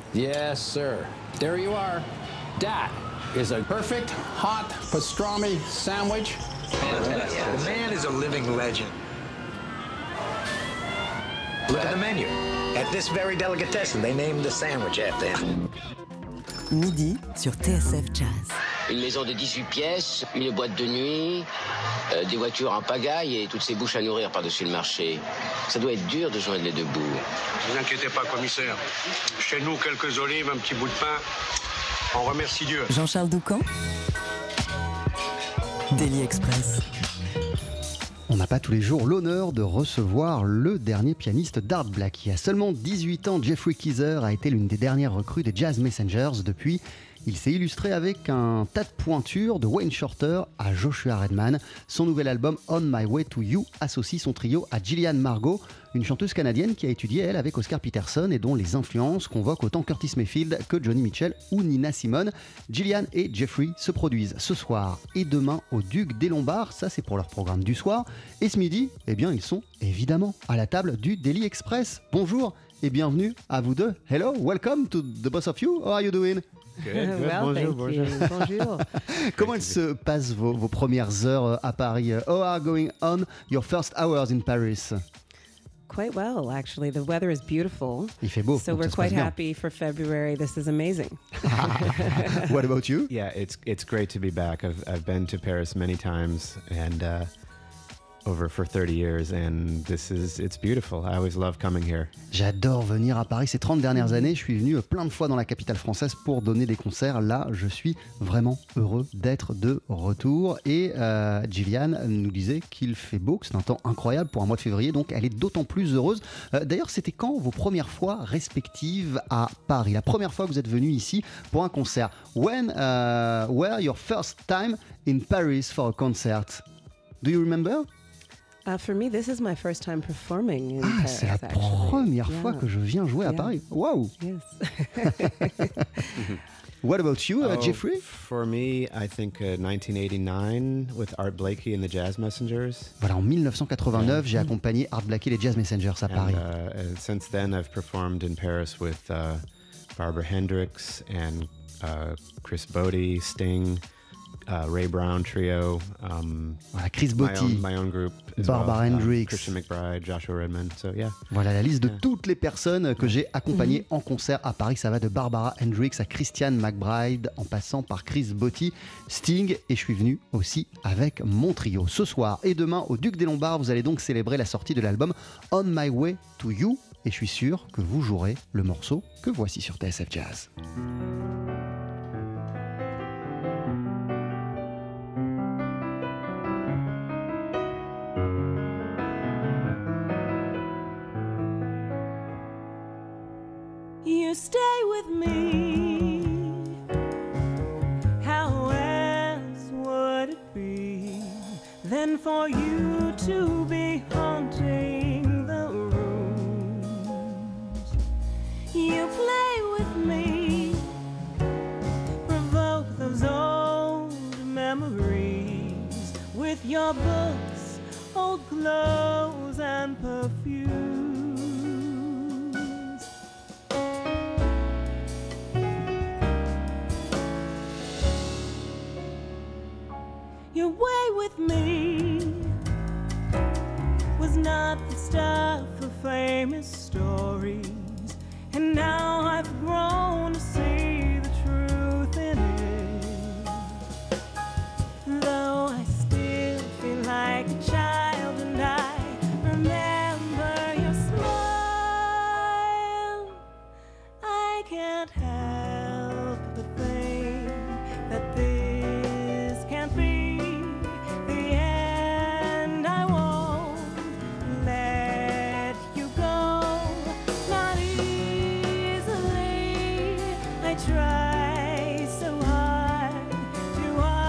Yes, sir. There you are. That is a perfect hot pastrami sandwich. Fantastic. The man is a living legend. Look at the menu. At this very delicatessen, they named the sandwich after him. Midi sur TSF Jazz. Une maison de 18 pièces, une boîte de nuit, des voitures en pagaille et toutes ces bouches à nourrir par-dessus le marché. Ça doit être dur de joindre les deux bouts. Ne vous inquiétez pas, commissaire. Chez nous, quelques olives, un petit bout de pain. On remercie Dieu. Jean-Charles Doucan. Daily Express. On n'a pas tous les jours l'honneur de recevoir le dernier pianiste d'Art Blakey. À seulement 18 ans, Jeffrey Keezer a été l'une des dernières recrues des Jazz Messengers. Depuis, il s'est illustré avec un tas de pointures de Wayne Shorter à Joshua Redman. Son nouvel album On My Way to You associe son trio à Gillian Margot, une chanteuse canadienne qui a étudié, elle, avec Oscar Peterson et dont les influences convoquent autant Curtis Mayfield que Johnny Mitchell ou Nina Simone. Gillian et Jeffrey se produisent ce soir et demain au Duc des Lombards, ça c'est pour leur programme du soir. Et ce midi, eh bien ils sont évidemment à la table du Daily Express. Bonjour et bienvenue à vous deux. Hello, welcome to the both of you. How are you doing? Good. Well, bonjour. Comment se passent vos premières heures à Paris? How are going on your first hours in Paris? Quite well, actually. The weather is beautiful. Il fait beau. So we're quite happy for February. This is amazing. What about you? Yeah, it's great to be back. I've been to Paris many times and over for 30 years and it's beautiful. I always love coming here. J'adore venir à Paris. Ces 30 dernières années, je suis venu plein de fois dans la capitale française pour donner des concerts. Là, je suis vraiment heureux d'être de retour. Et Gillian nous disait qu'il fait beau, que c'est un temps incroyable pour un mois de février, donc elle est d'autant plus heureuse. D'ailleurs, c'était quand vos premières fois respectives à Paris? La première fois que vous êtes venu ici pour un concert? When were your first time in Paris for a concert? Do you remember? For me, this is my first time performing in Paris, c'est la première fois que je viens jouer à Paris. Wow! Yes. What about you, Jeffrey? For me, I think 1989 with Art Blakey and the Jazz Messengers. Voilà, en 1989, j'ai accompagné Art Blakey et les Jazz Messengers à Paris. And since then, I've performed in Paris with Barbara Hendricks and Chris Bodie, Sting, Ray Brown Trio. Voilà, Chris Botti, my own group as Barbara well, Hendricks, Christian McBride, Joshua Redman. So yeah. Voilà la liste de toutes les personnes que j'ai accompagnées en concert à Paris. Ça va de Barbara Hendricks à Christian McBride, en passant par Chris Botti, Sting, et je suis venu aussi avec mon trio. Ce soir et demain au Duc des Lombards, vous allez donc célébrer la sortie de l'album On My Way to You, et je suis sûr que vous jouerez le morceau que voici sur TSF Jazz. You stay with me. How else would it be than for you to be haunting the rooms? You play with me, provoke those old memories with your books, old clothes and perfume. Your way with me was not the stuff of famous stories, and now I've grown to see the truth in it. Though I still feel like a child and I remember your smile, I can't help but think that this can't be try so hard to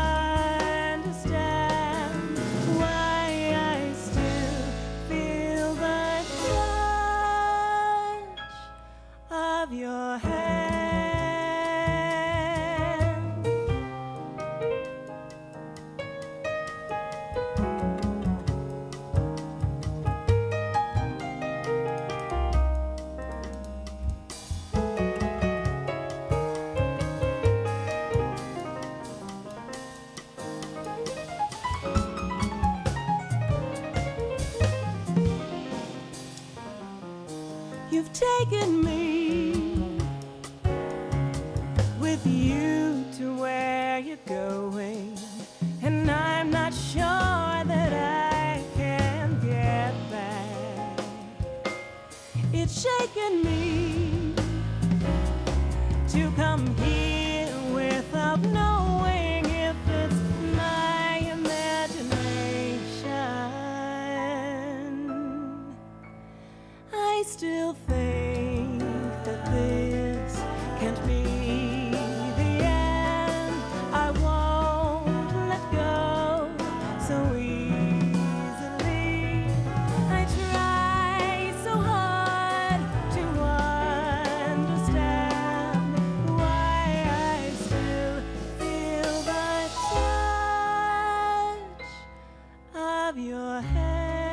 understand why I still feel the touch of your hand. You've taken me with you to where you're going, and I'm not sure that I can get back. It's shaken me to come here without knowing if it's my imagination. I still think that this can't be the end. I won't let go so easily. I try so hard to understand why I still feel the touch of your hand.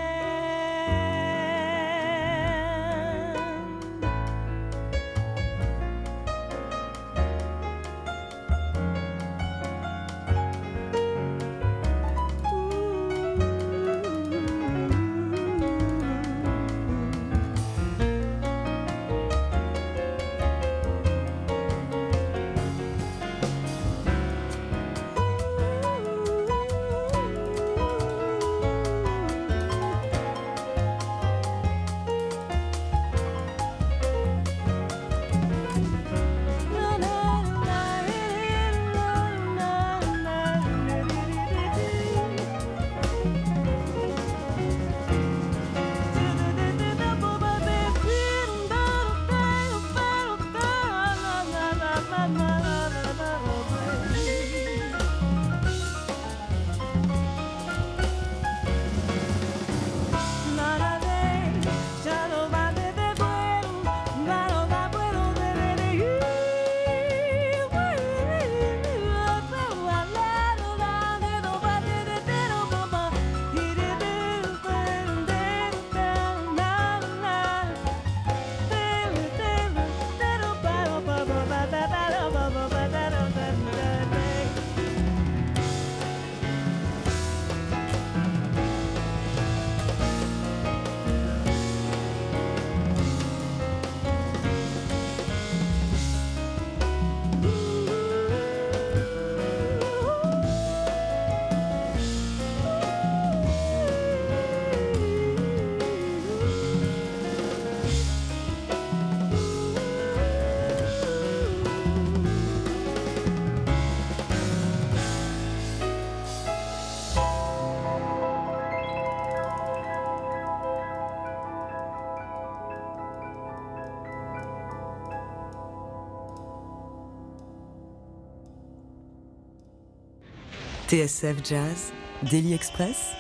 TSF Jazz, Daily Express,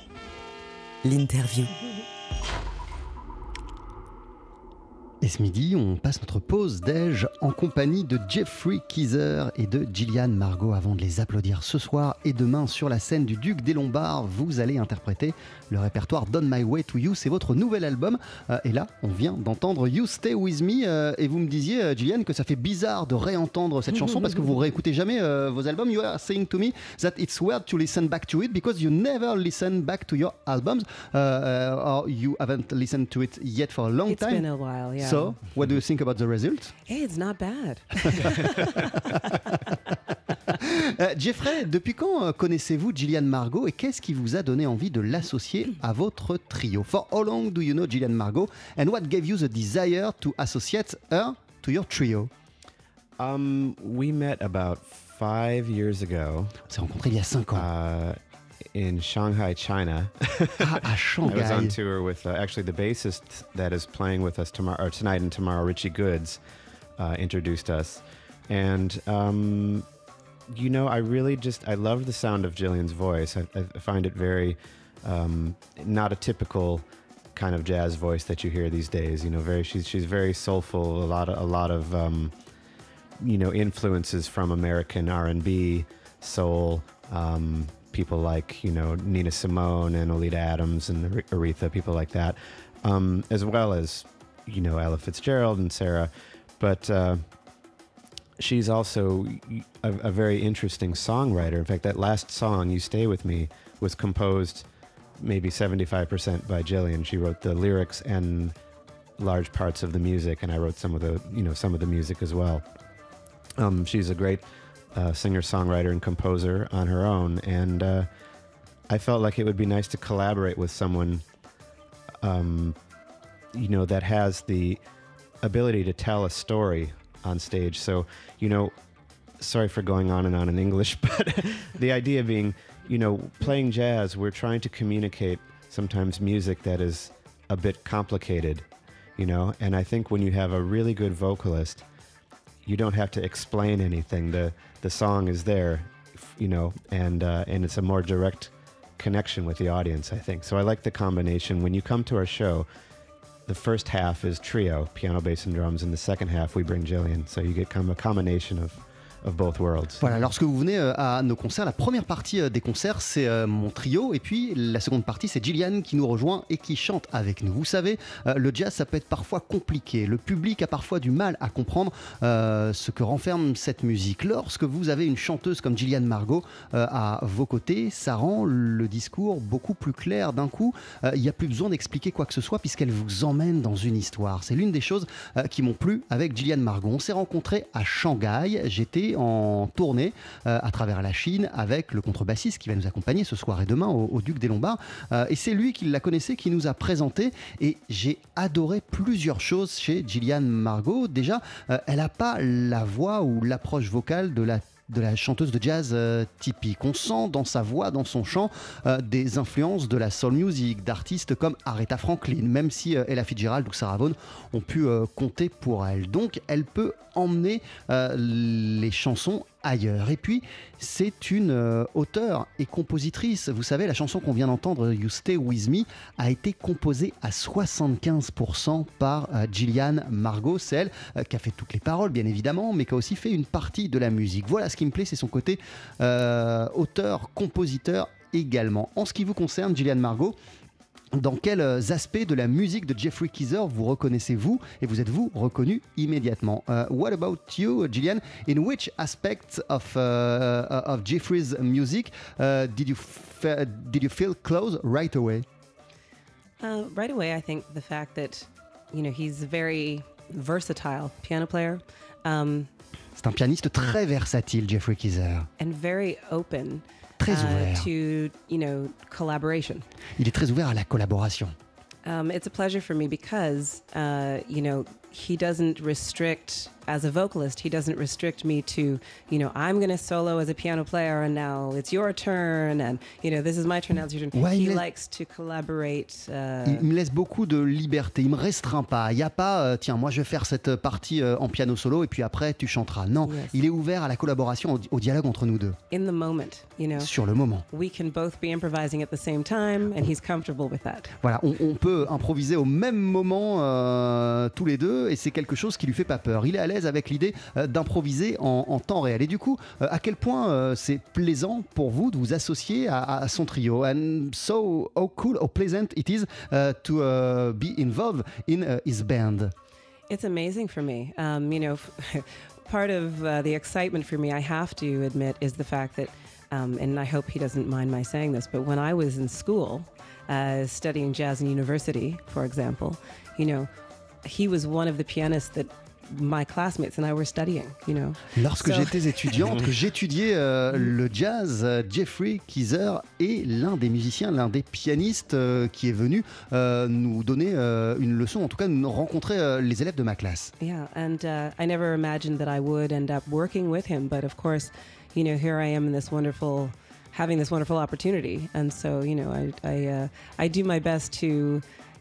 l'interview. Et ce midi, on passe notre pause déj en compagnie de Jeffrey Keezer et de Gillian Margot. Avant de les applaudir ce soir et demain sur la scène du Duc des Lombards, vous allez interpréter le répertoire Don My Way to You. C'est votre nouvel album. Et là, on vient d'entendre You Stay With Me. Et vous me disiez, Gillian, que ça fait bizarre de réentendre cette chanson parce que vous réécoutez jamais vos albums. You are saying to me that it's weird to listen back to it because you never listen back to your albums. Or you haven't listened to it yet for a long time. It's been a while, yeah. So, what do you think about the result? Hey, it's not bad. Jeffrey, depuis quand connaissez-vous Gillian Margot et qu'est-ce qui vous a donné envie de l'associer à votre trio? For how long do you know Gillian Margot and what gave you the desire to associate her to your trio? We met about 5 years ago. On s'est rencontrés il y a 5 ans. In Shanghai, China. À Shanghai. I was on tour with actually the bassist that is playing with us tonight and tomorrow, Richie Goods, introduced us. And, you know, I love the sound of Gillian's voice. I find it very, not a typical kind of jazz voice that you hear these days. You know, she's very soulful, a lot of you know, influences from American R&B, soul, people like, you know, Nina Simone and Oleta Adams and Aretha, people like that, as well as, you know, Ella Fitzgerald and Sarah. But she's also a very interesting songwriter. In fact, that last song, You Stay With Me, was composed maybe 75% by Gillian. She wrote the lyrics and large parts of the music, and I wrote some of the music as well. She's a great singer-songwriter and composer on her own, and I felt like it would be nice to collaborate with someone, that has the ability to tell a story on stage. So, sorry for going on and on in English, but the idea being, playing jazz, we're trying to communicate sometimes music that is a bit complicated, and I think when you have a really good vocalist, you don't have to explain anything. The song is there, and it's a more direct connection with the audience, I think. So I like the combination. When you come to our show, the first half is trio, piano, bass, and drums, and the second half we bring Jillian. So you get kind of a combination of both worlds. Voilà, lorsque vous venez à nos concerts, la première partie des concerts, c'est mon trio, et puis la seconde partie, c'est Jillian qui nous rejoint et qui chante avec nous. Vous savez, le jazz, ça peut être parfois compliqué. Le public a parfois du mal à comprendre ce que renferme cette musique. Lorsque vous avez une chanteuse comme Gillian Margot à vos côtés, ça rend le discours beaucoup plus clair d'un coup. Il n'y a plus besoin d'expliquer quoi que ce soit puisqu'elle vous emmène dans une histoire. C'est l'une des choses qui m'ont plu avec Gillian Margot. On s'est rencontrés à Shanghai. J'étais en tournée à travers la Chine avec le contrebassiste qui va nous accompagner ce soir et demain au Duc des Lombards. Et c'est lui qui la connaissait, qui nous a présenté. Et j'ai adoré plusieurs choses chez Gillian Margot. Déjà, elle n'a pas la voix ou l'approche vocale de la chanteuse de jazz typique. On sent dans sa voix, dans son chant, des influences de la soul music, d'artistes comme Aretha Franklin, même si Ella Fitzgerald ou Sarah Vaughan ont pu compter pour elle. Donc, elle peut emmener les chansons ailleurs. Et puis, c'est une auteure et compositrice. Vous savez, la chanson qu'on vient d'entendre, You Stay With Me, a été composée à 75% par Gillian Margot. C'est elle qui a fait toutes les paroles, bien évidemment, mais qui a aussi fait une partie de la musique. Voilà, ce qui me plaît, c'est son côté auteur, compositeur également. En ce qui vous concerne, Gillian Margot, dans quels aspects de la musique de Jeffrey Keezer vous reconnaissez-vous et vous êtes-vous reconnu immédiatement? What about you, Gillian? In which aspects of Jeffrey's music did you feel close right away? Right away, I think the fact that, he's a very versatile piano player. C'est un pianiste très versatile, Jeffrey Keezer. And very open. Très ouvert. To, collaboration. Il est très ouvert à la collaboration. It's a pleasure for me because, he doesn't restrict, as a vocalist, he doesn't restrict me to, I'm going to solo as a piano player and now it's your turn and, this is my turn, now it's your turn. Ouais, he likes to collaborate. Il me laisse beaucoup de liberté, il me restreint pas. Il n'y a pas, tiens, moi je vais faire cette partie en piano solo et puis après tu chanteras. Non, Yes. il est ouvert à la collaboration, au dialogue entre nous deux. In the moment, Sur le moment. We can both be improvising at the same time and he's comfortable with that. Voilà, on peut improviser au même moment tous les deux et c'est quelque chose qui lui fait pas peur. Il est à l'aise avec l'idée d'improviser en temps réel. Et du coup, à quel point c'est plaisant pour vous de vous associer à son trio. And so, how cool, how pleasant it is to be involved in his band. It's amazing for me. Part of the excitement for me, I have to admit, is the fact that, and I hope he doesn't mind my saying this, but when I was in school, studying jazz in university, for example, he was one of the pianists that my classmates and I were studying, Lorsque j'étais étudiante, que j'étudiais le jazz, Jeffrey Keezer est l'un des musiciens, l'un des pianistes qui est venu nous donner une leçon, en tout cas nous rencontrer les élèves de ma classe. Yeah, and I never imagined that I would end up working with him, but of course, here I am in having this wonderful opportunity, and so, I do my best to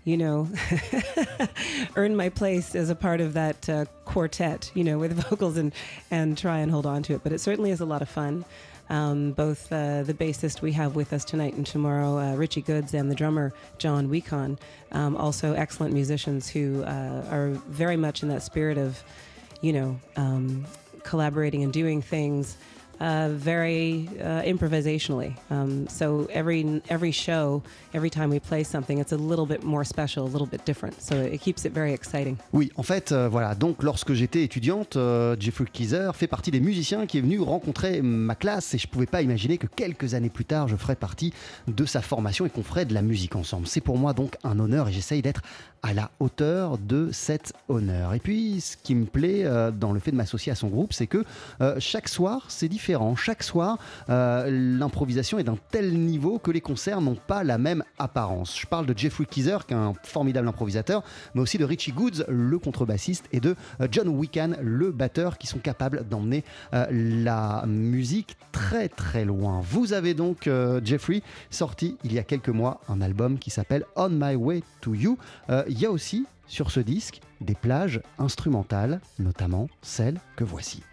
earn my place as a part of that quartet, with vocals and try and hold on to it. But it certainly is a lot of fun. Both the bassist we have with us tonight and tomorrow, Richie Goods, and the drummer, John Weekon, also excellent musicians who are very much in that spirit of, collaborating and doing things very improvisationally. So every show, every time we play something, it's a little bit more special, a little bit different. So it keeps it very exciting. Oui, en fait, voilà. Donc, lorsque j'étais étudiante, Jeffrey Keezer fait partie des musiciens qui est venu rencontrer ma classe et je ne pouvais pas imaginer que quelques années plus tard, je ferais partie de sa formation et qu'on ferait de la musique ensemble. C'est pour moi donc un honneur et j'essaye d'être à la hauteur de cet honneur. Et puis, ce qui me plaît dans le fait de m'associer à son groupe, c'est que chaque soir, c'est différent. Chaque soir, l'improvisation est d'un tel niveau que les concerts n'ont pas la même apparence. Je parle de Jeffrey Keezer, qui est un formidable improvisateur, mais aussi de Richie Goods, le contrebassiste, et de John Wiccan, le batteur, qui sont capables d'emmener la musique très très loin. Vous avez donc, Jeffrey, sorti il y a quelques mois un album qui s'appelle On My Way to You. Il y a aussi sur ce disque des plages instrumentales, notamment celle que voici.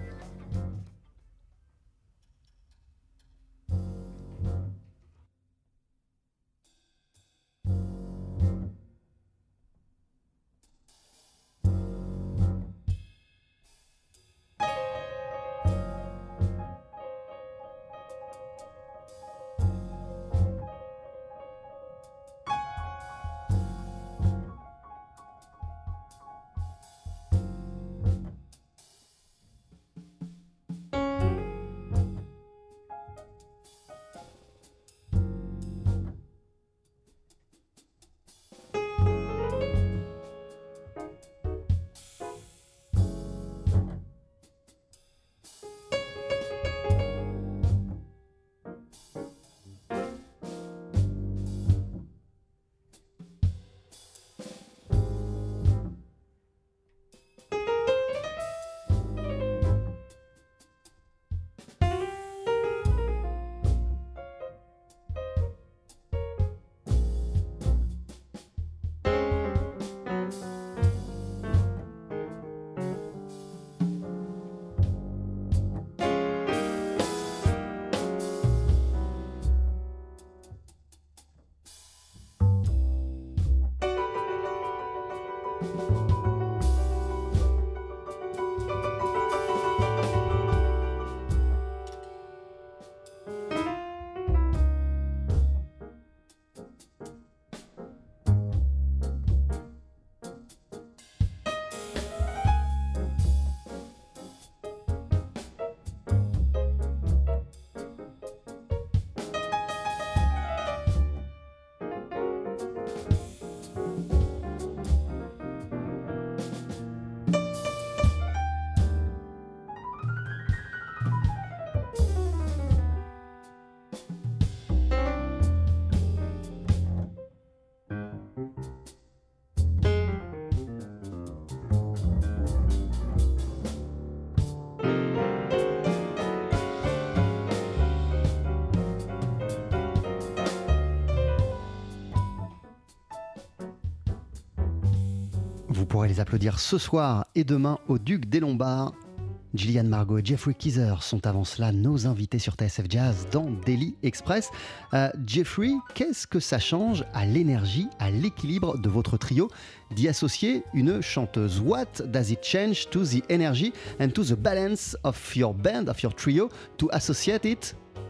Vous pourrez les applaudir ce soir et demain au Duc des Lombards. Gillian Margot et Jeffrey Keezer sont avant cela nos invités sur TSF Jazz dans Daily Express. Jeffrey, qu'est-ce que ça change à l'énergie, à l'équilibre de votre trio d'y associer une chanteuse? What does it change to the energy and to the balance of your band, of your trio, to associate it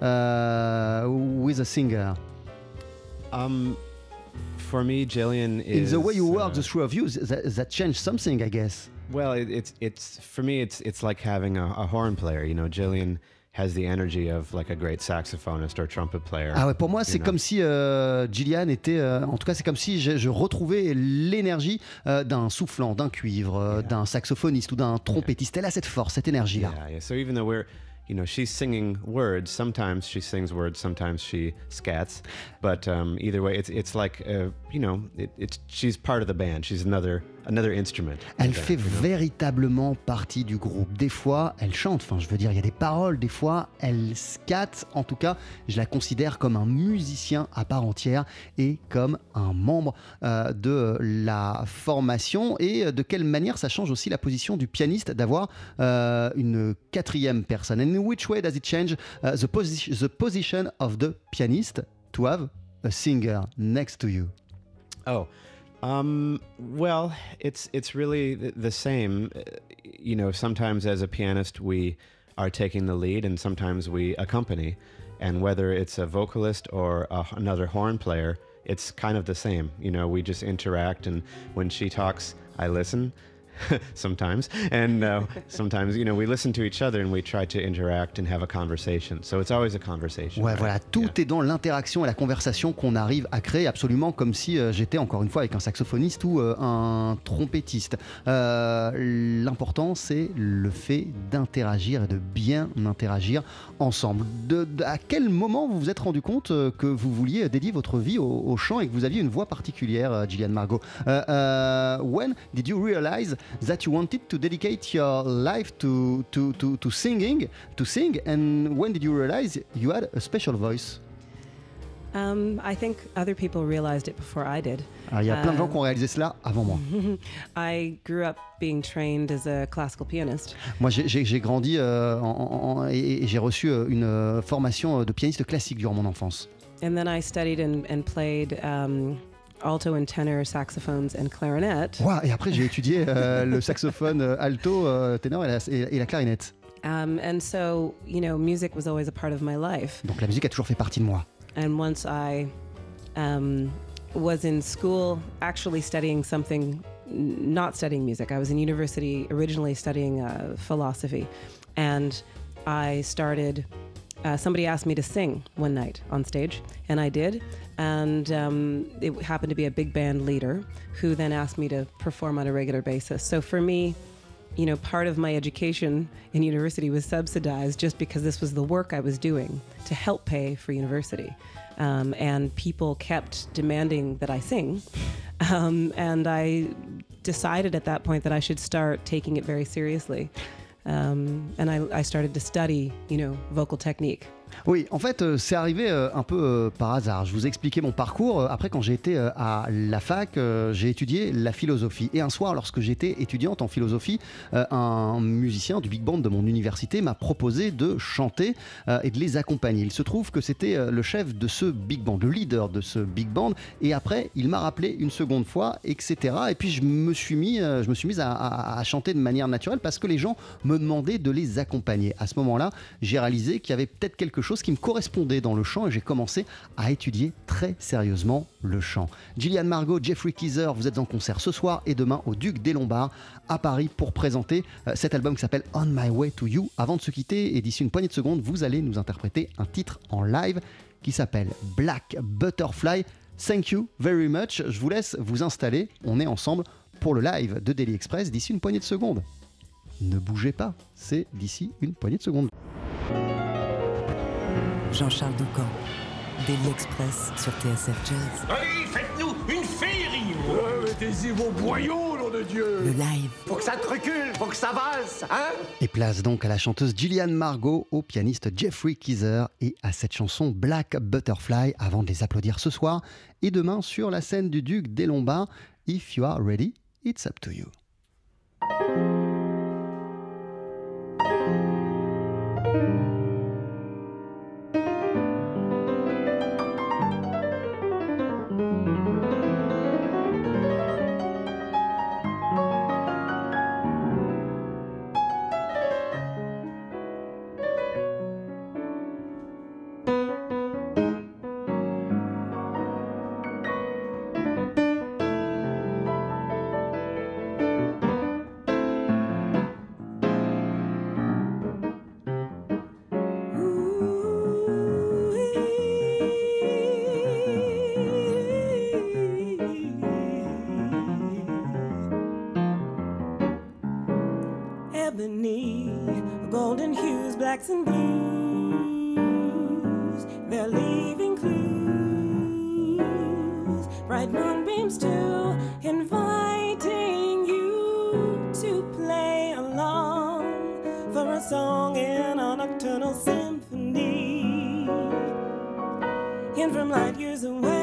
with a singer? For me, Jillian is... In the way you work, the three of you, that changed something, I guess. Well, it's for me, it's like having a horn player. You know, Jillian has the energy of like a great saxophonist or trumpet player. Ah ouais, pour moi, c'est comme si Gillian était... en tout cas, c'est comme si je retrouvais l'énergie d'un soufflant, d'un cuivre, d'un saxophoniste ou d'un trompettiste. Elle a cette force, cette énergie-là. Yeah. So even though she's singing words. Sometimes she sings words, sometimes she scats. But either way, it's like, she's part of the band. She's another instrument. Elle fait véritablement partie du groupe. Des fois, elle chante. Enfin, je veux dire, il y a des paroles. Des fois, elle scatte. En tout cas, je la considère comme un musicien à part entière et comme un membre de la formation. Et de quelle manière ça change aussi la position du pianiste d'avoir une quatrième personne. And in which way does it change the position of the pianist to have a singer next to you? Oh, well, it's really the same. Sometimes as a pianist, we are taking the lead, and sometimes we accompany. And whether it's a vocalist or another horn player, it's kind of the same. You know, we just interact, and when she talks, I listen. Sometimes, and sometimes, you know, we listen to each other and we try to interact and have a conversation. So it's always a conversation. Ouais, right? voilà, tout est dans l'interaction et la conversation qu'on arrive à créer, absolument comme si j'étais encore une fois avec un saxophoniste ou un trompettiste. L'important, c'est le fait d'interagir et de bien interagir ensemble. À quel moment vous vous êtes rendu compte que vous vouliez dédier votre vie au chant et que vous aviez une voix particulière, Gillian Margot? When did you realize that you wanted to dedicate your life to singing, to sing, and when did you realize you had a special voice? I think other people realized it before I did. Alors, il y a plein de gens qui ont réalisé cela avant moi. I grew up being trained as a classical pianist. Moi, j'ai grandi et j'ai reçu une formation de pianiste classique durant mon enfance. And then I studied and played alto and tenor saxophones and clarinet. Wow, et après, j'ai étudié le saxophone alto, ténor et la clarinette. And so, you know, music was always a part of my life. Donc la musique a toujours fait partie de moi. And once I was in school actually studying something, not studying music. I was in university originally studying philosophy. And I started, somebody asked me to sing one night on stage, and I did. And it happened to be a big band leader who then asked me to perform on a regular basis. So for me, you know, part of my education in university was subsidized just because this was the work I was doing to help pay for university. And people kept demanding that I sing. And I decided at that point that I should start taking it very seriously. And I started to study, you know, vocal technique. Oui, en fait, c'est arrivé un peu par hasard. Je vous expliquais mon parcours. Après, quand j'ai été à la fac, j'ai étudié la philosophie. Et un soir, lorsque j'étais étudiante en philosophie, un musicien du big band de mon université m'a proposé de chanter et de les accompagner. Il se trouve que c'était le chef de ce big band, le leader de ce big band. Et après, il m'a rappelé une seconde fois, etc. Et puis, je me suis mise à chanter de manière naturelle parce que les gens me demandaient de les accompagner. À ce moment-là, j'ai réalisé qu'il y avait peut-être quelque chose qui me correspondait dans le chant et j'ai commencé à étudier très sérieusement le chant. Gillian Margot, Jeffrey Keezer, vous êtes en concert ce soir et demain au Duc des Lombards à Paris pour présenter cet album qui s'appelle On My Way to You. Avant de se quitter et d'ici une poignée de secondes, vous allez nous interpréter un titre en live qui s'appelle Black Butterfly. Thank you very much. Je vous laisse vous installer. On est ensemble pour le live de Daily Express d'ici une poignée de secondes. Ne bougez pas, c'est d'ici une poignée de secondes. Jean-Charles Doucan, Daily Express sur TSF Jazz. Allez, faites-nous une féerie. Mettez-y vos boyaux, nom de Dieu. Le live. Faut que ça te recule, faut que ça valse, hein? Et place donc à la chanteuse Gillian Margot, au pianiste Jeffrey Keezer et à cette chanson Black Butterfly avant de les applaudir ce soir et demain sur la scène du Duc des Lombards. If you are ready, it's up to you. Ebony, golden hues, blacks and blues, they're leaving clues, bright moonbeams too, inviting you to play along for a song in a nocturnal symphony. And from light years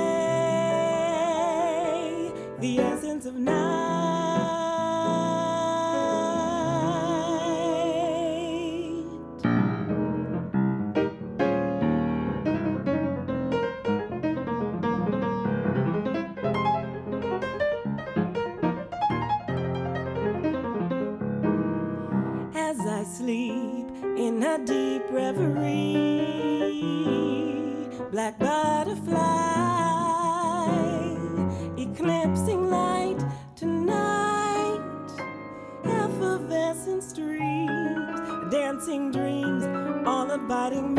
away, the essence of night. Sleep in a deep reverie. Black butterfly, eclipsing light tonight. Effervescent streams, dancing dreams, all abiding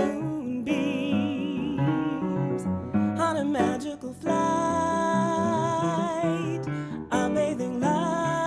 moonbeams. On a magical flight, a bathing light.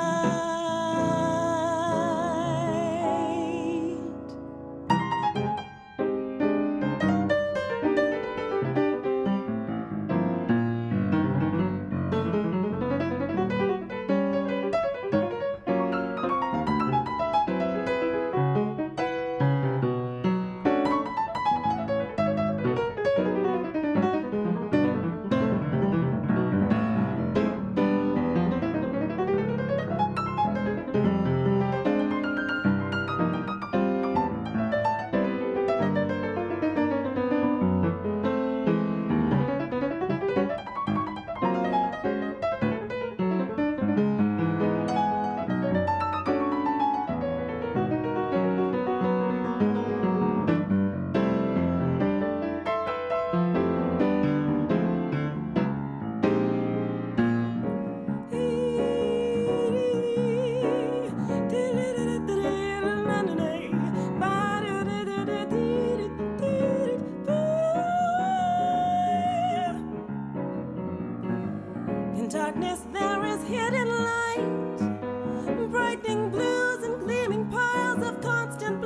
In darkness there is hidden light, brightening blues and gleaming pearls of constant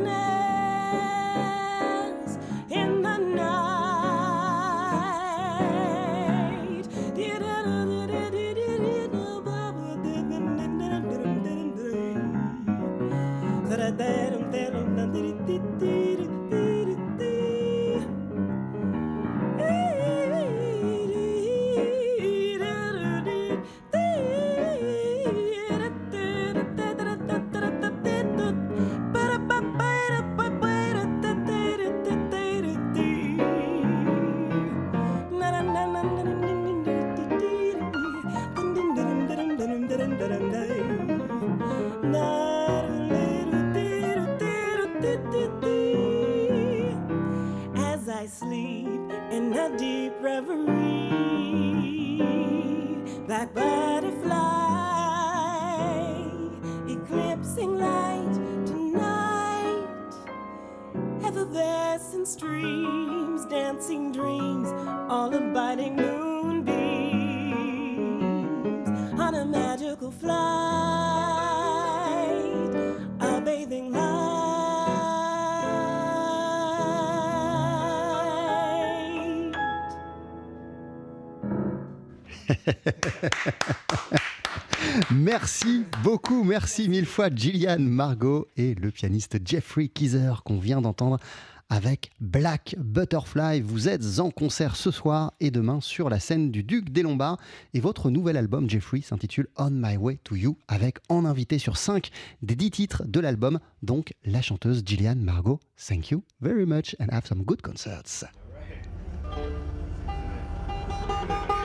blackness in the night. As I sleep in a deep reverie, black butterfly, eclipsing light tonight. Effervescent streams, dancing dreams, all abiding moonbeams. On a magical flight, a bathing light. Merci beaucoup, merci mille fois Gillian Margot et le pianiste Jeffrey Keezer qu'on vient d'entendre avec Black Butterfly. Vous êtes en concert ce soir et demain sur la scène du Duc des Lombards et votre nouvel album Jeffrey s'intitule On My Way to You avec en invité sur 5 des 10 titres de l'album, donc la chanteuse Gillian Margot. Thank you very much and have some good concerts. All right.